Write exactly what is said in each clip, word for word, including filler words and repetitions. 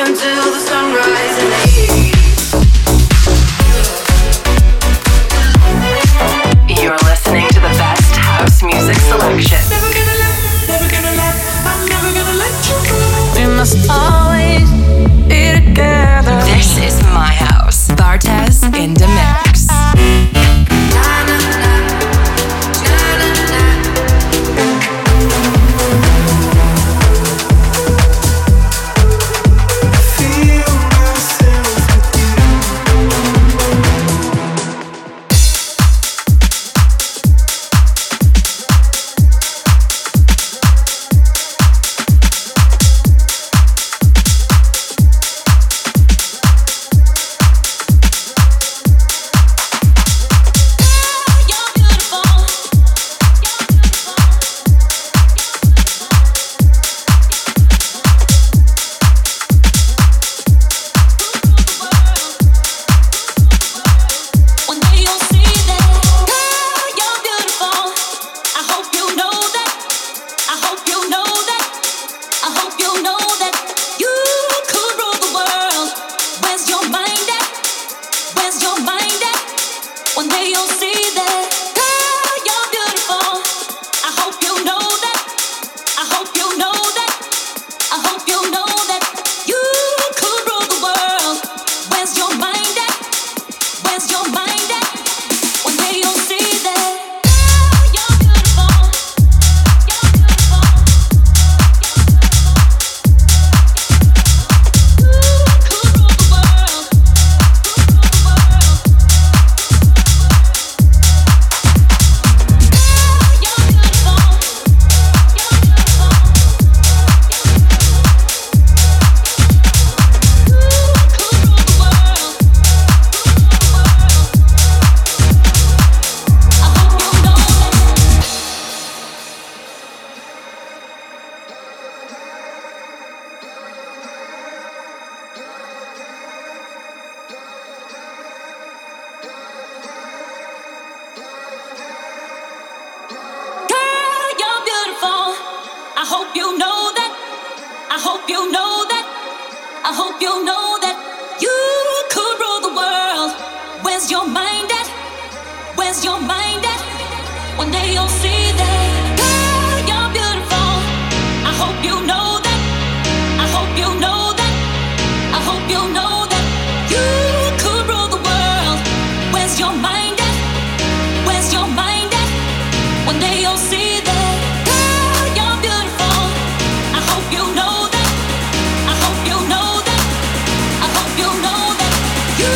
until the sunrise in the east. You're listening to the best house music selection. Never gonna let, never gonna let, I'm never gonna let you go. We must always be together. This is my house. Bartez in the mix.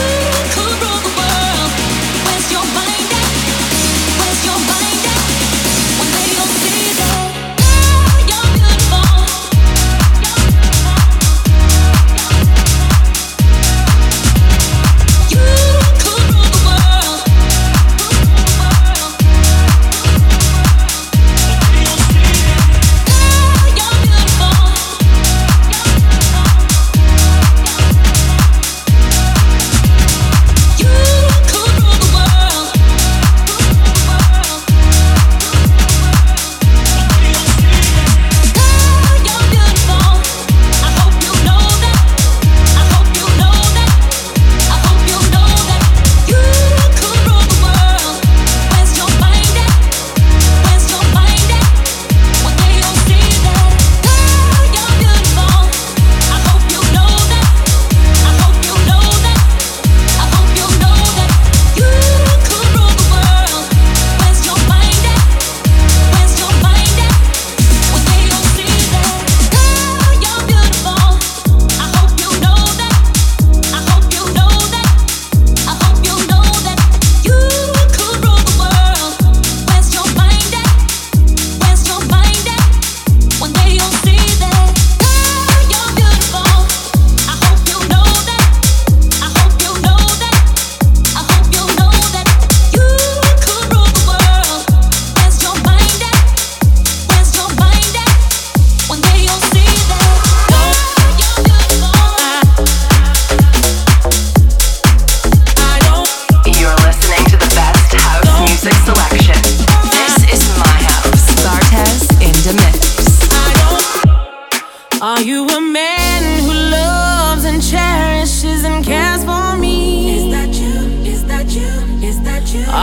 Where's your mind at?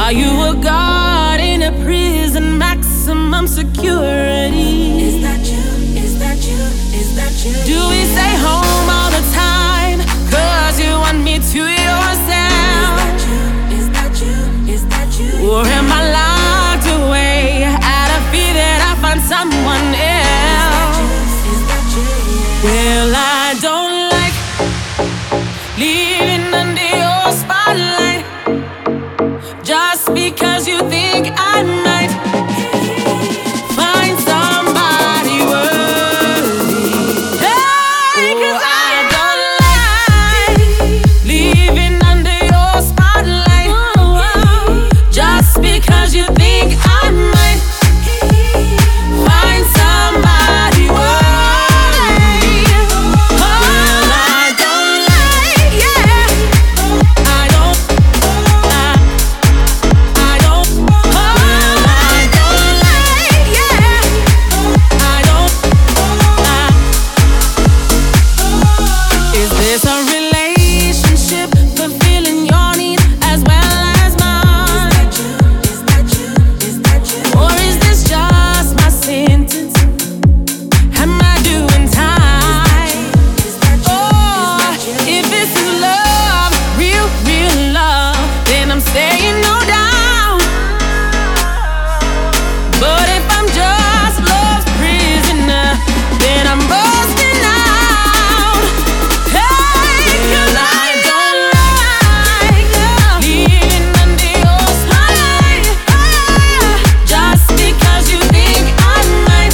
Are you a guard in a prison, maximum security? Is that you? Is that you? Is that you? Do we stay home all the time, cause you want me to yourself? Is that you? Is that you? Is that you? Or am I locked away out of fear that I find someone else? Is that you? Is that you? Yeah. Well, I don't like living under your spotlight just because you think I might find somebody worthy. Hey, 'cause I don't like living under your spotlight just because you think I might find somebody worthy. Well, I don't like, yeah, I don't, I, I don't, well, I don't like, yeah, I don't, I. Is this a relationship fulfilling your needs as well as mine? Is that you? Is that you? Or is this just my sentence? Am I doing time? Is that you? Or if this is love, real, real love, then I'm saying no down. But if I'm just love's prisoner, then I'm busting out. Hey, 'cause I don't like living under your spotlight just because you think I might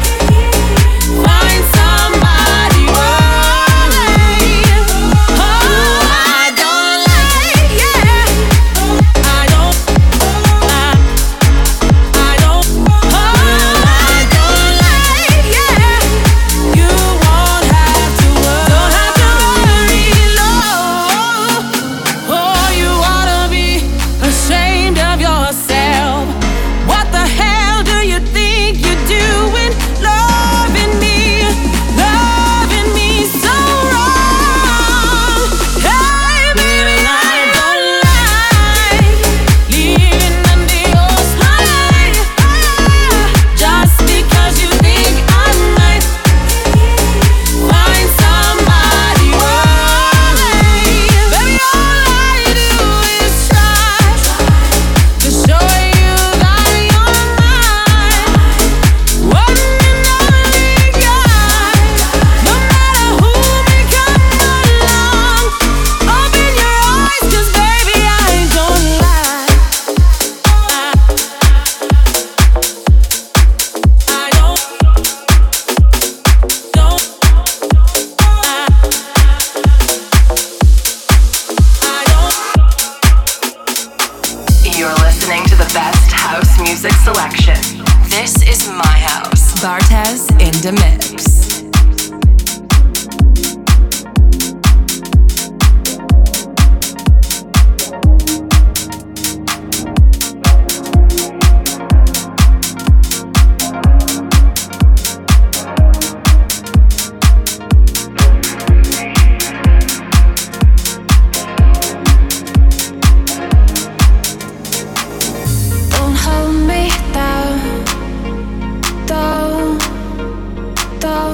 find somebody worthy. Oh, I don't like, yeah, I don't, I, I don't, oh, I don't like, yeah. You won't have to worry, don't have to worry, love. Oh, you ought to be ashamed of yourself. What the hell do you think you're doing? Loving me, loving me so wrong. Hey, baby, I don't like living under your spotlight just because you think I might find somebody worthy. Baby, all I do is try to show you that you're mine, one and only guy. No matter who may come along, open your eyes, 'cause baby, I don't lie. I, I don't, don't, I, I don't. You're listening to the best house music selection. This is my house. Bartez in the mix. Don't hold me down, don't, don't.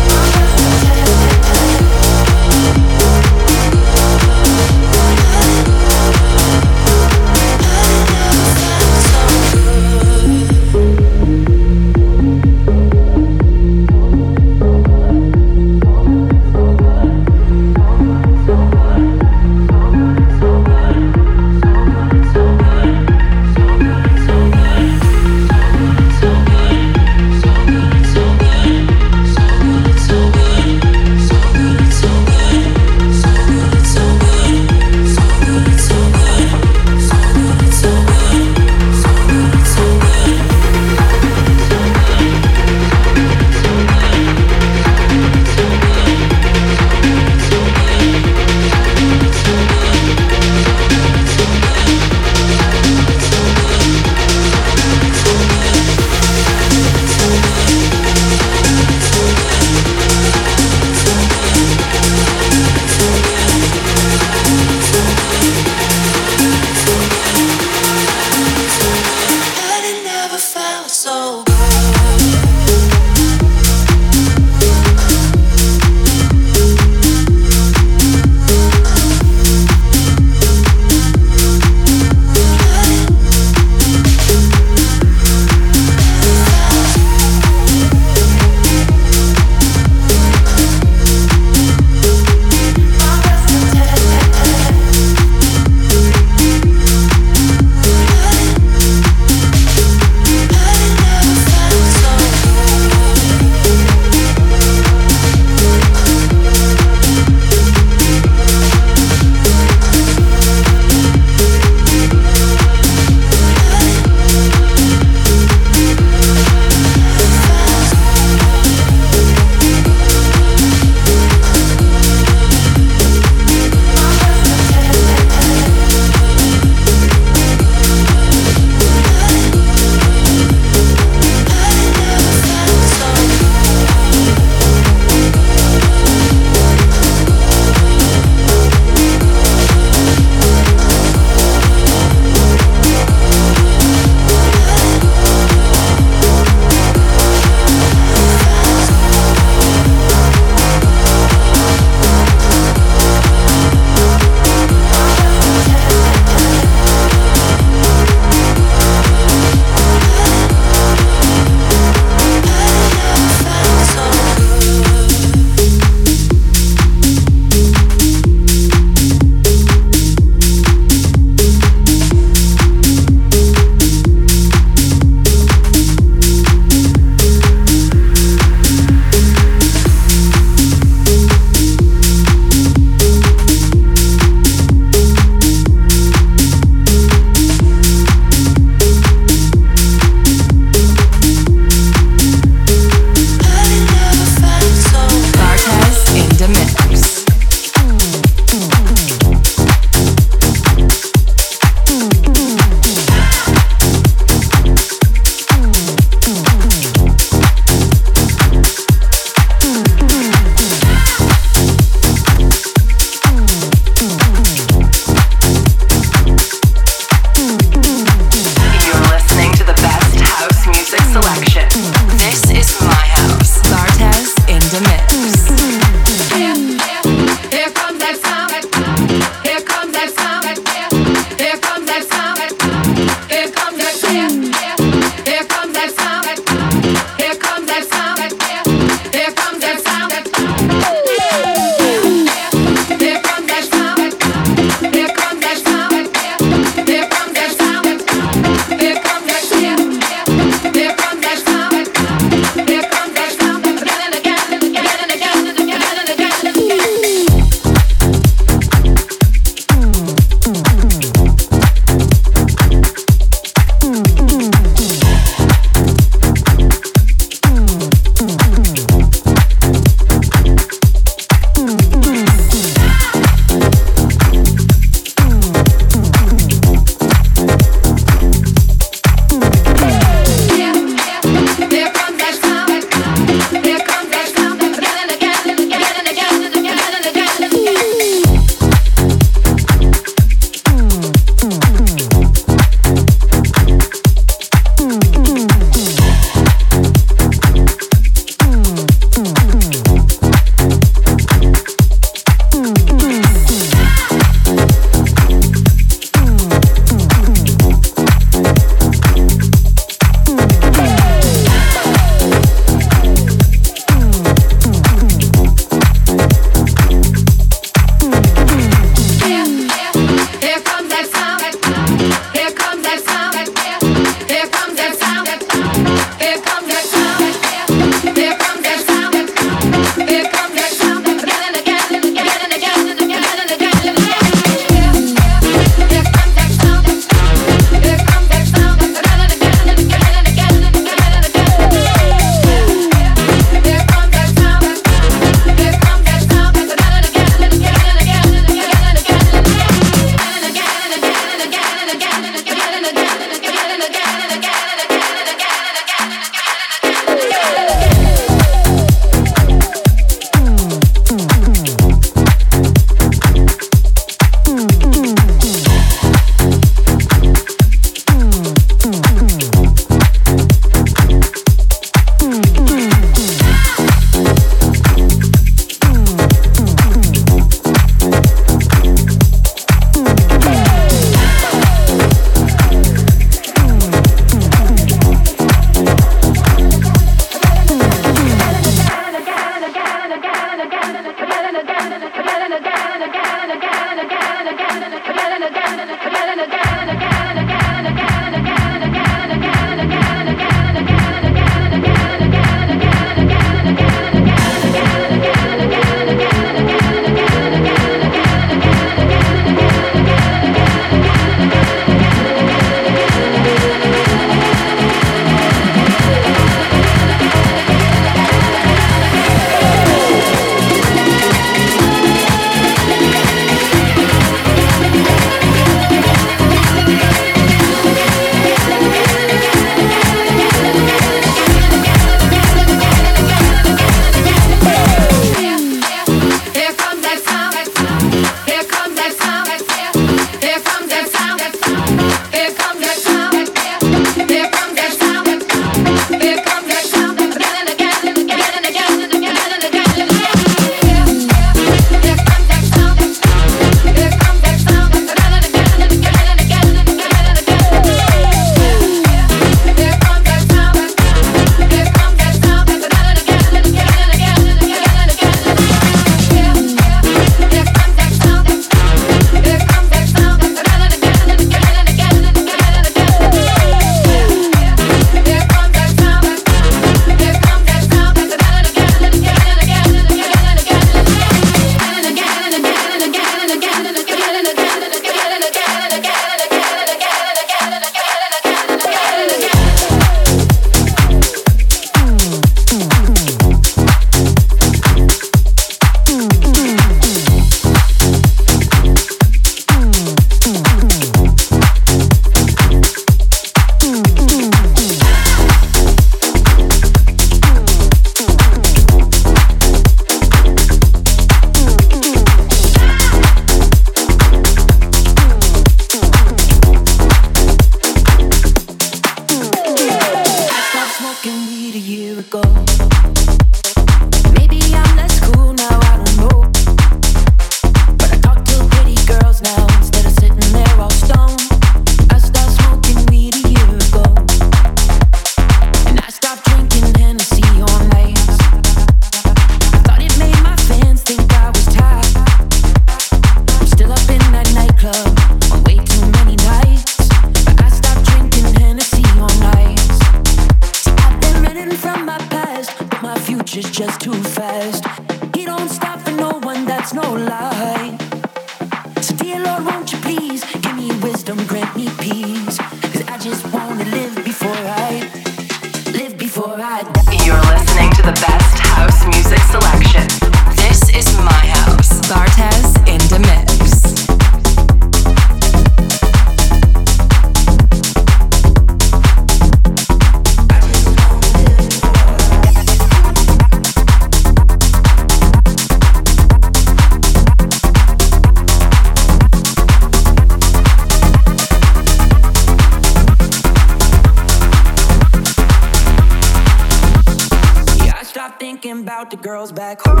The girls back home,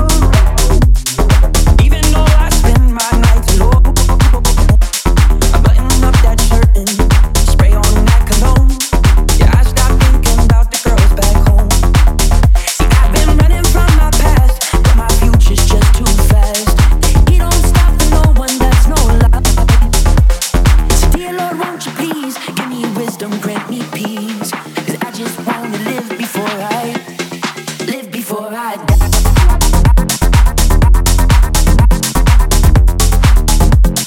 even though I spend my nights alone. I button up that shirt and spray on that cologne. Yeah, I stopped thinking about the girls back home. See, I've been running from my past, but my future's just too fast. He don't stop for no one, that's no lie. So dear Lord, won't you please give me wisdom, grant me peace, 'cause I just wanna live before I live before I die.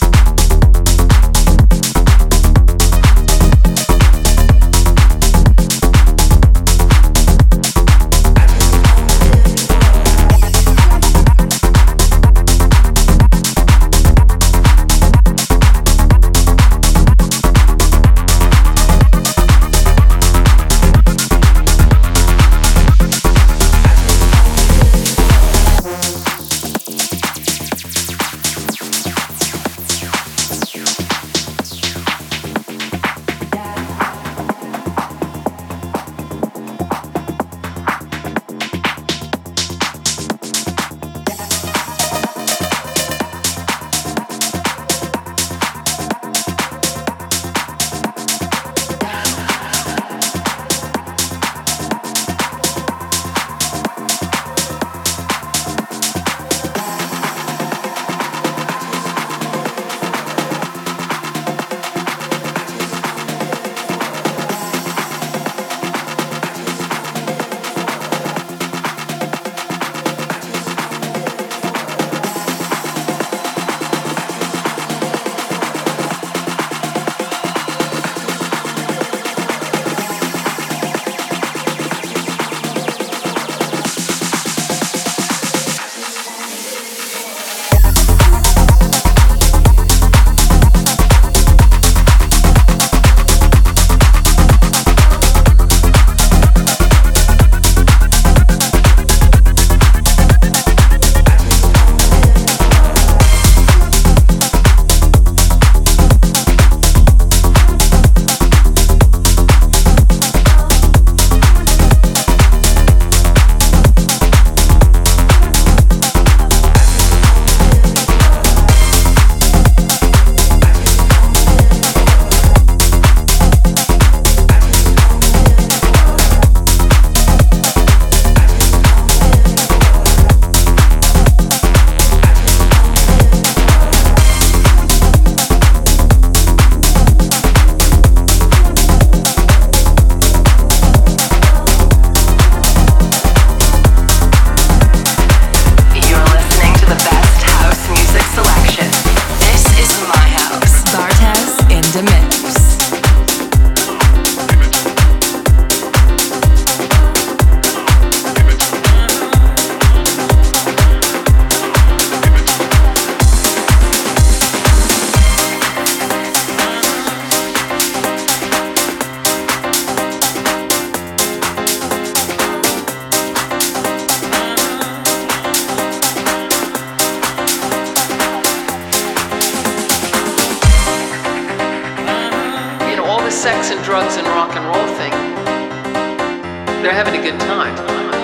sex and drugs and rock and roll thing, they're having a good time.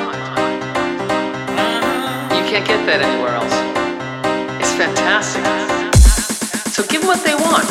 You can't get that anywhere else. It's fantastic. So give them what they want.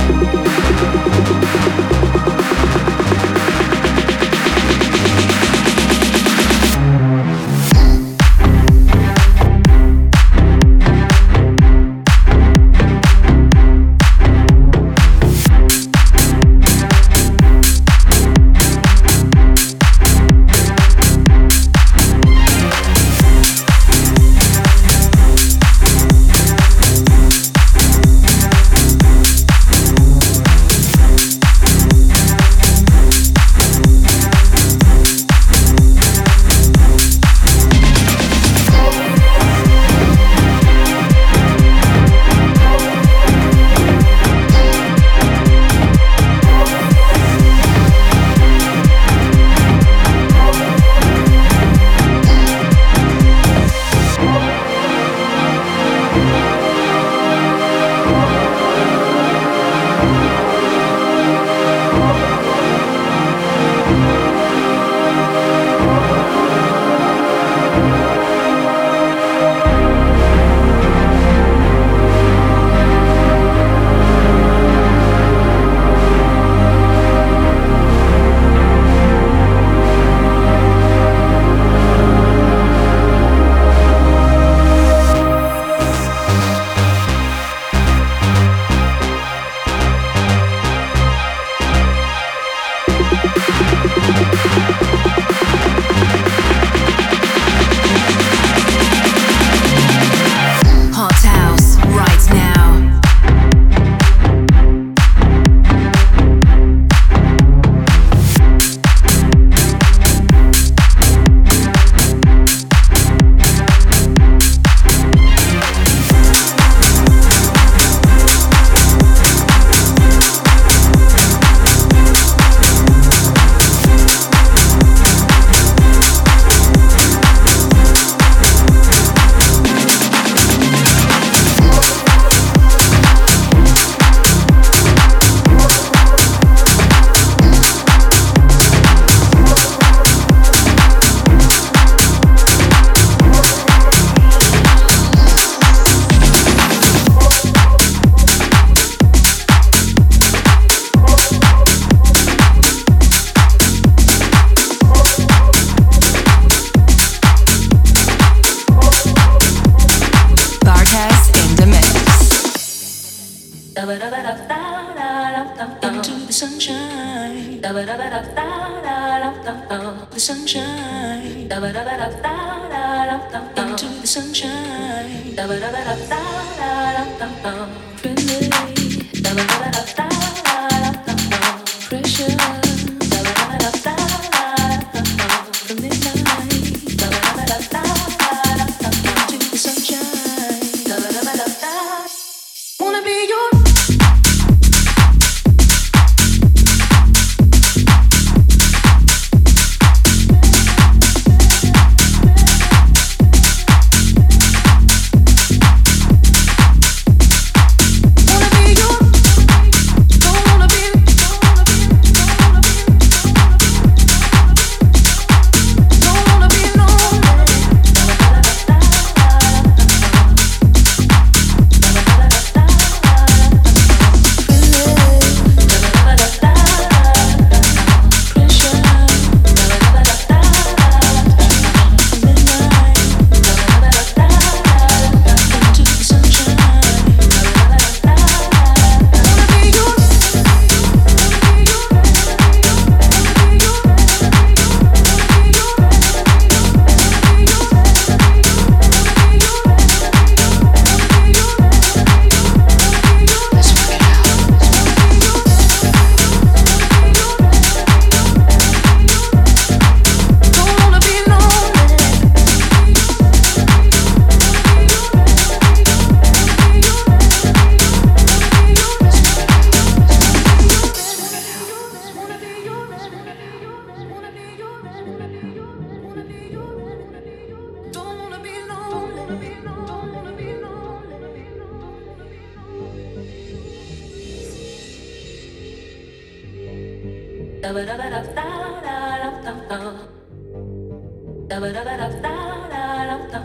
Into the sunshine, the sunshine, into the sunshine, friendly, pressure, from midnight, into the sunshine, wanna be your.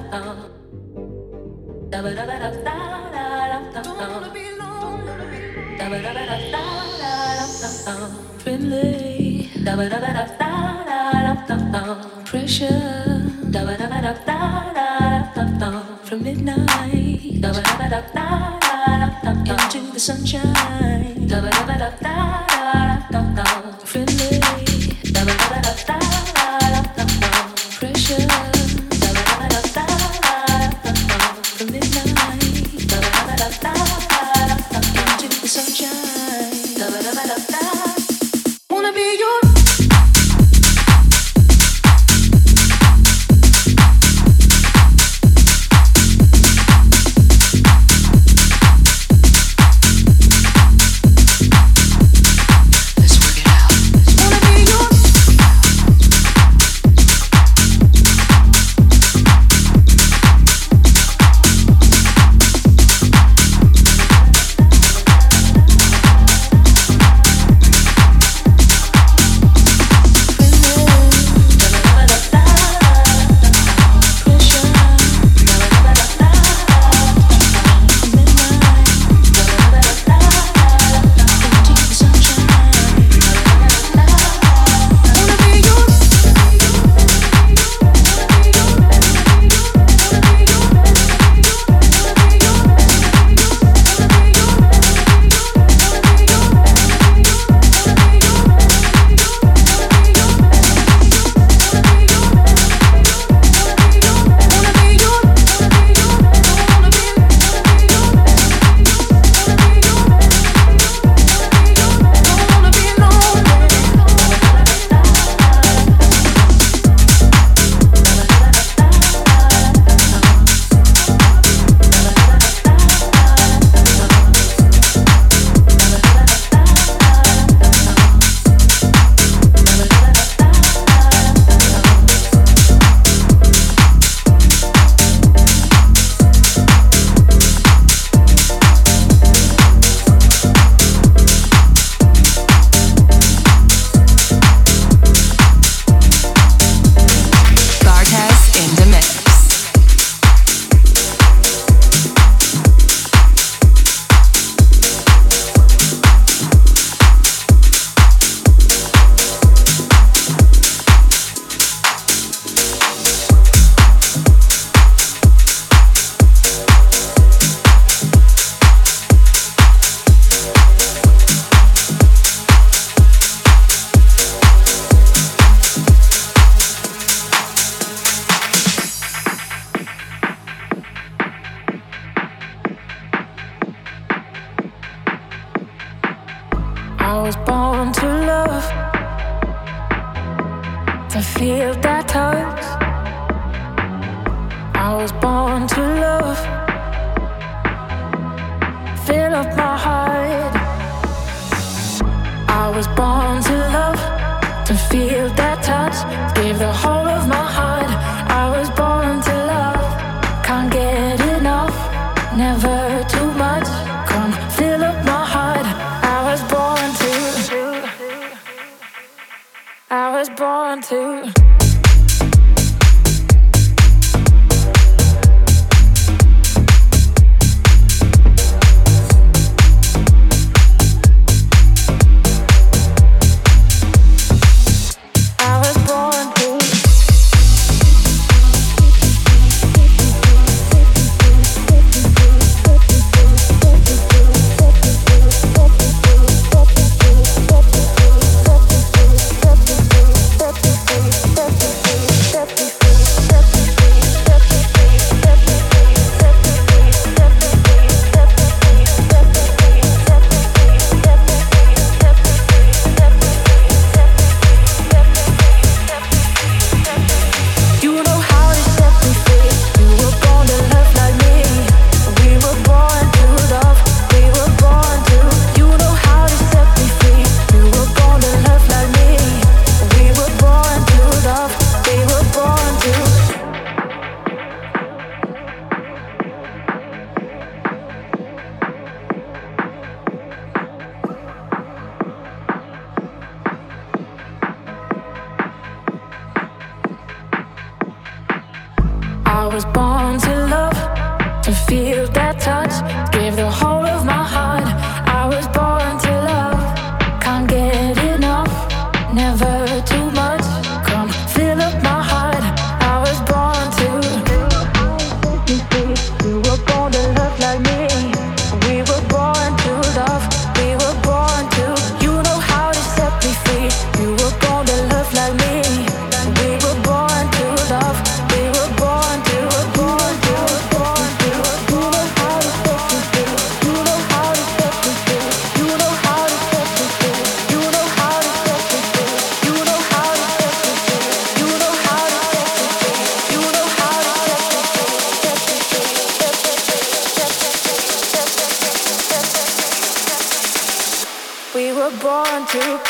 Don't wanna be lonely. Friendly, da ba da ba da da da da da. Pressure, da ba da ba da da da da da. From midnight, da ba da ba da da da da. Into the sunshine, da ba da ba da da da da. Friendly, da ba da ba da da da da da. Pressure, da ba da ba da da da da da. From midnight, da ba da ba da da da da. Into the sunshine, da ba da ba da da. Wanna be your I was born to love, to feel that touch. I was born to love, fill up my heart. I was born to love, to feel that touch, give the whole of my heart. I was born to love, can't get enough, never too much. Come fill up my heart. I was born to, I was born to. We'll be right back. We were born to.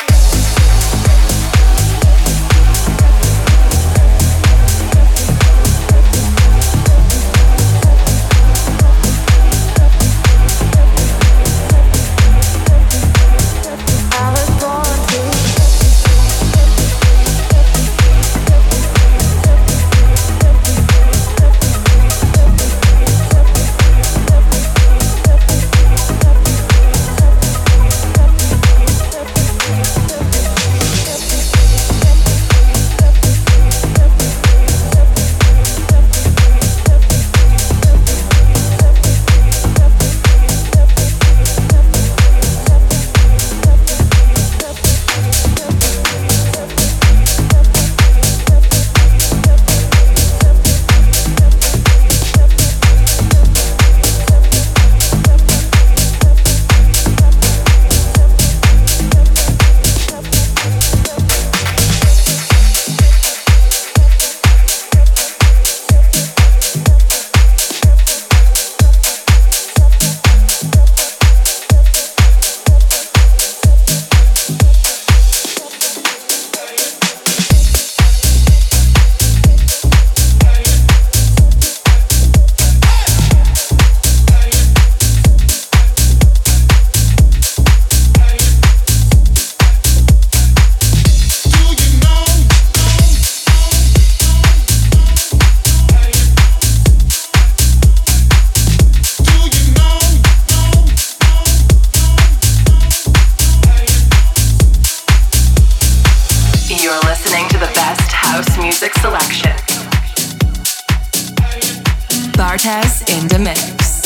Bartez in the mix.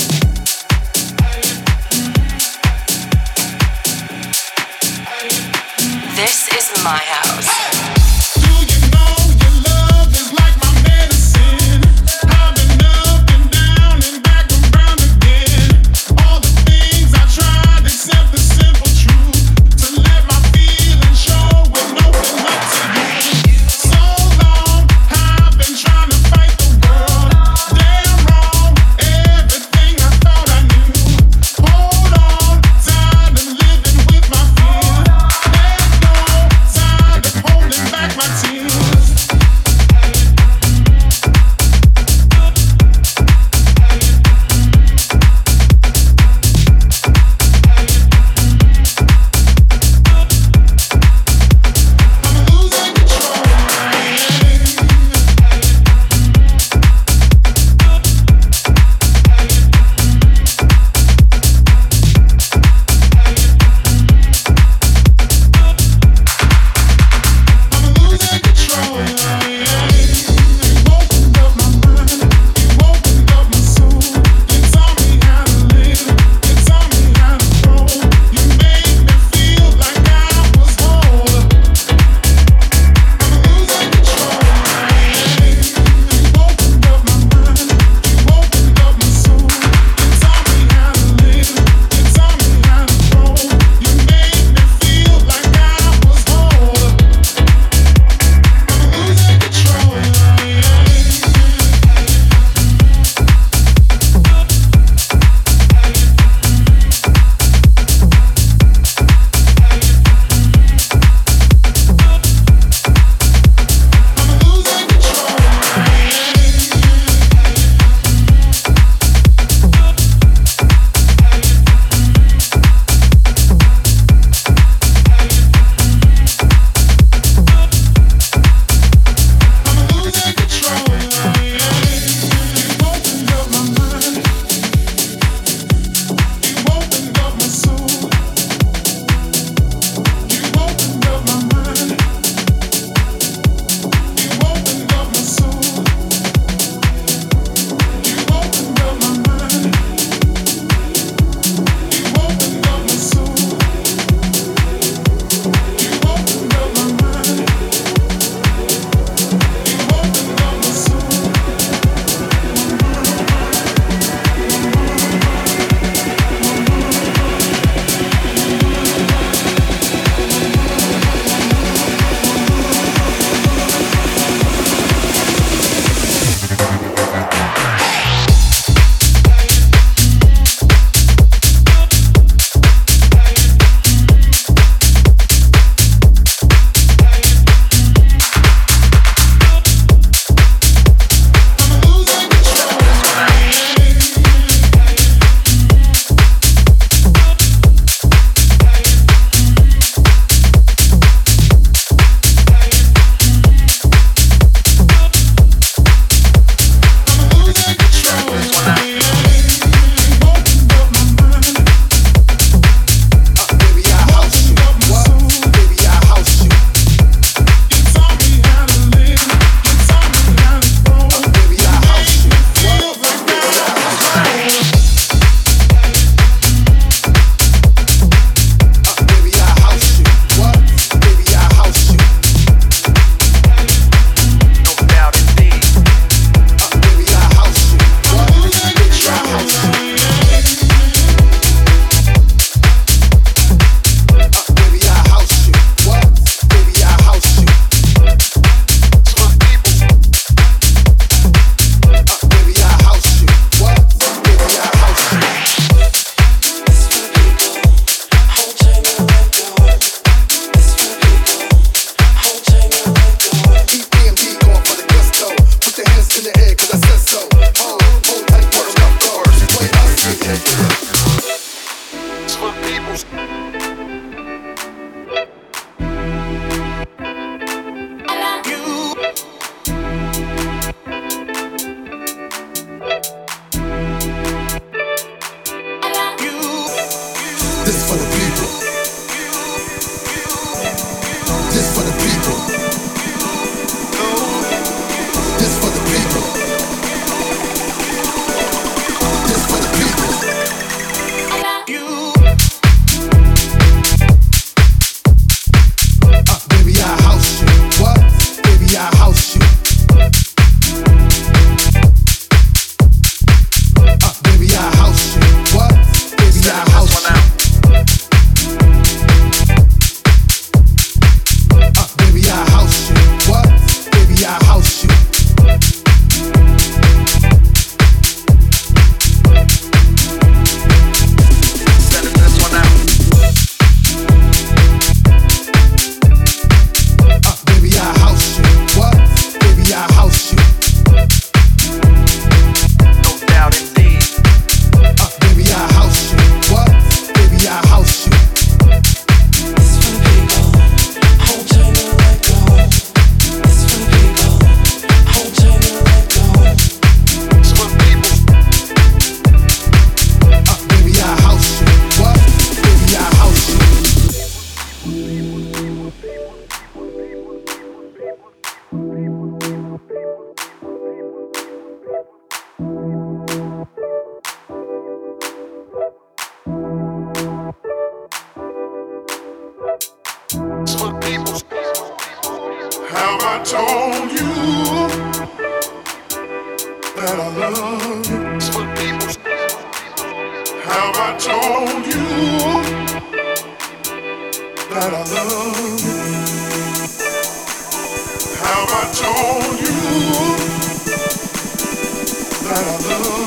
This is my house. Hold told you that I love you? Have I told you that I love you? Have I told you that I love you?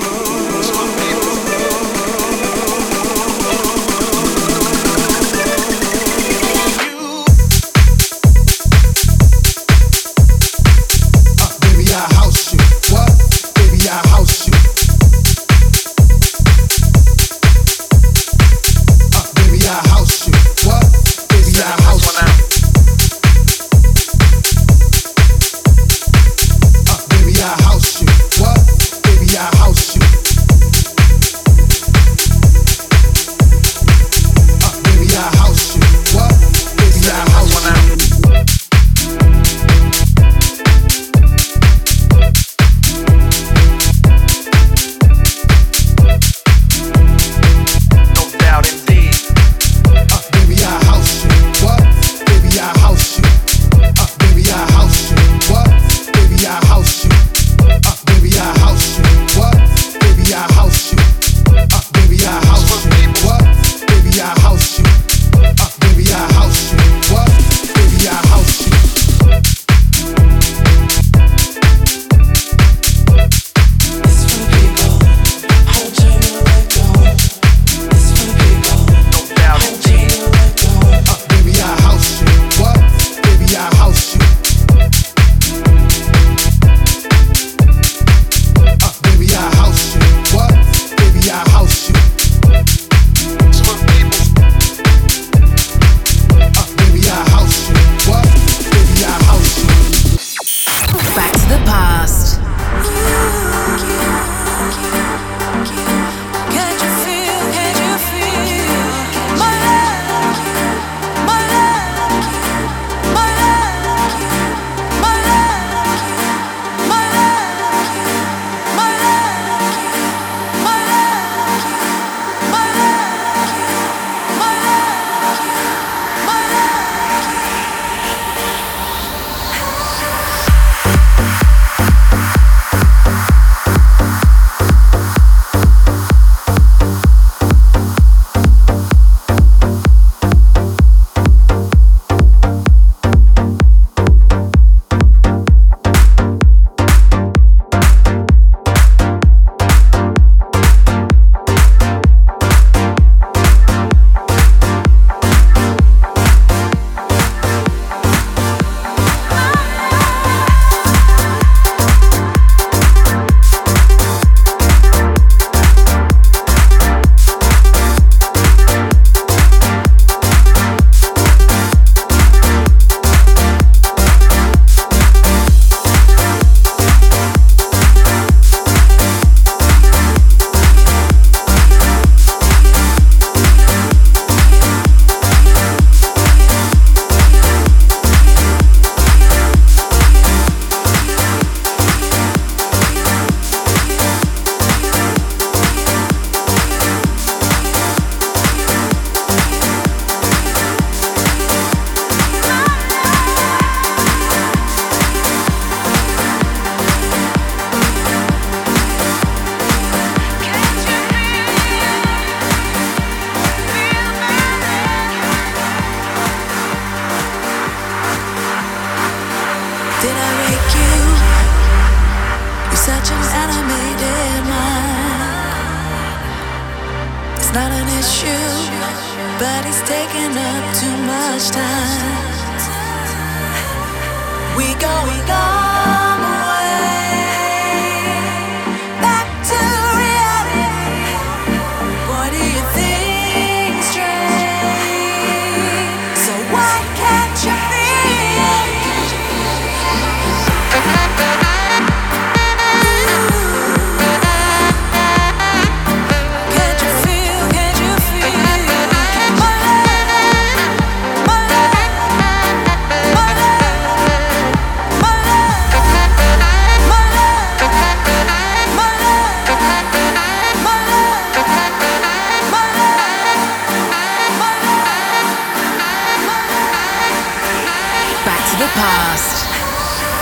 the past.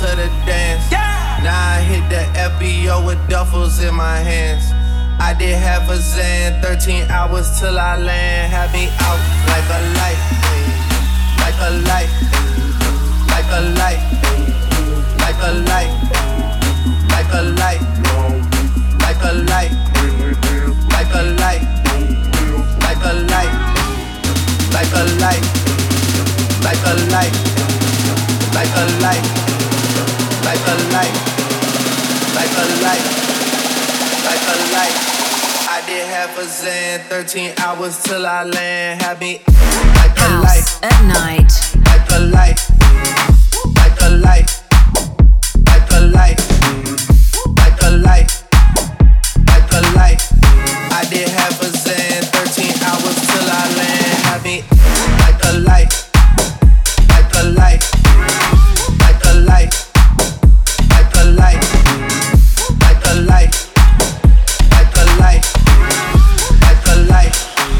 to the dance. Now I hit the F B O with duffels in my hands. I did half a Zan, thirteen hours till I land. Had me out like a light, like a light, like a light, like a light, like a light, like a light, like a light, like a light, like a light, like a light, like a light, like a light, like a light, like a light. I did half a Zan, thirteen hours till I land. Had me like a light at night, like a light, like a light, like a light, like a light, like a light. I did half a Zan, thirteen hours till I land. Had me like a light, like a light, like a light, like a light, like a light, like a light, like a light.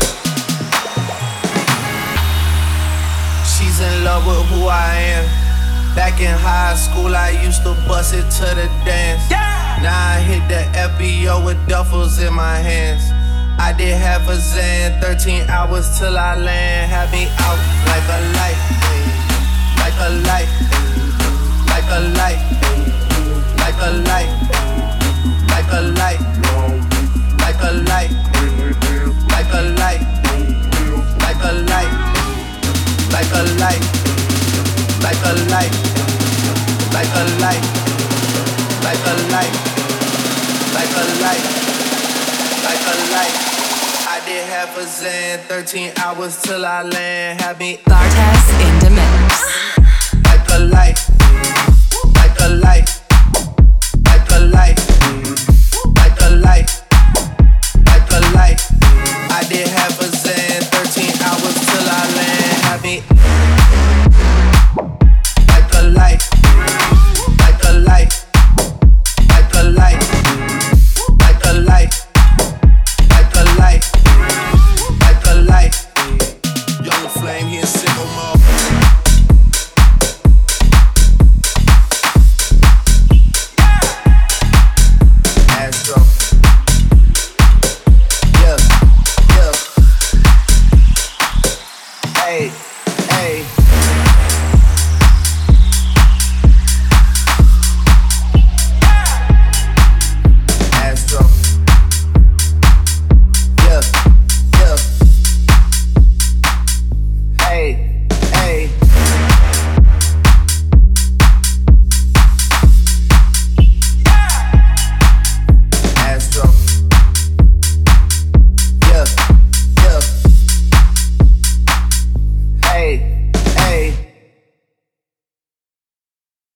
She's in love with who I am. Back in high school, I used to bust it to the dance. Now I hit the F B O with duffels in my hands. I did half a Zan, thirteen hours till I land. Had me out like a light, like a light, like a light, like a light, like a light, like a light, like a light, like a light, like a light, like a light, like a light, like a light, like a light, like a light. I did half a Zan, thirteen hours till I land. Had me Bartez in the mix. like a light, like a light.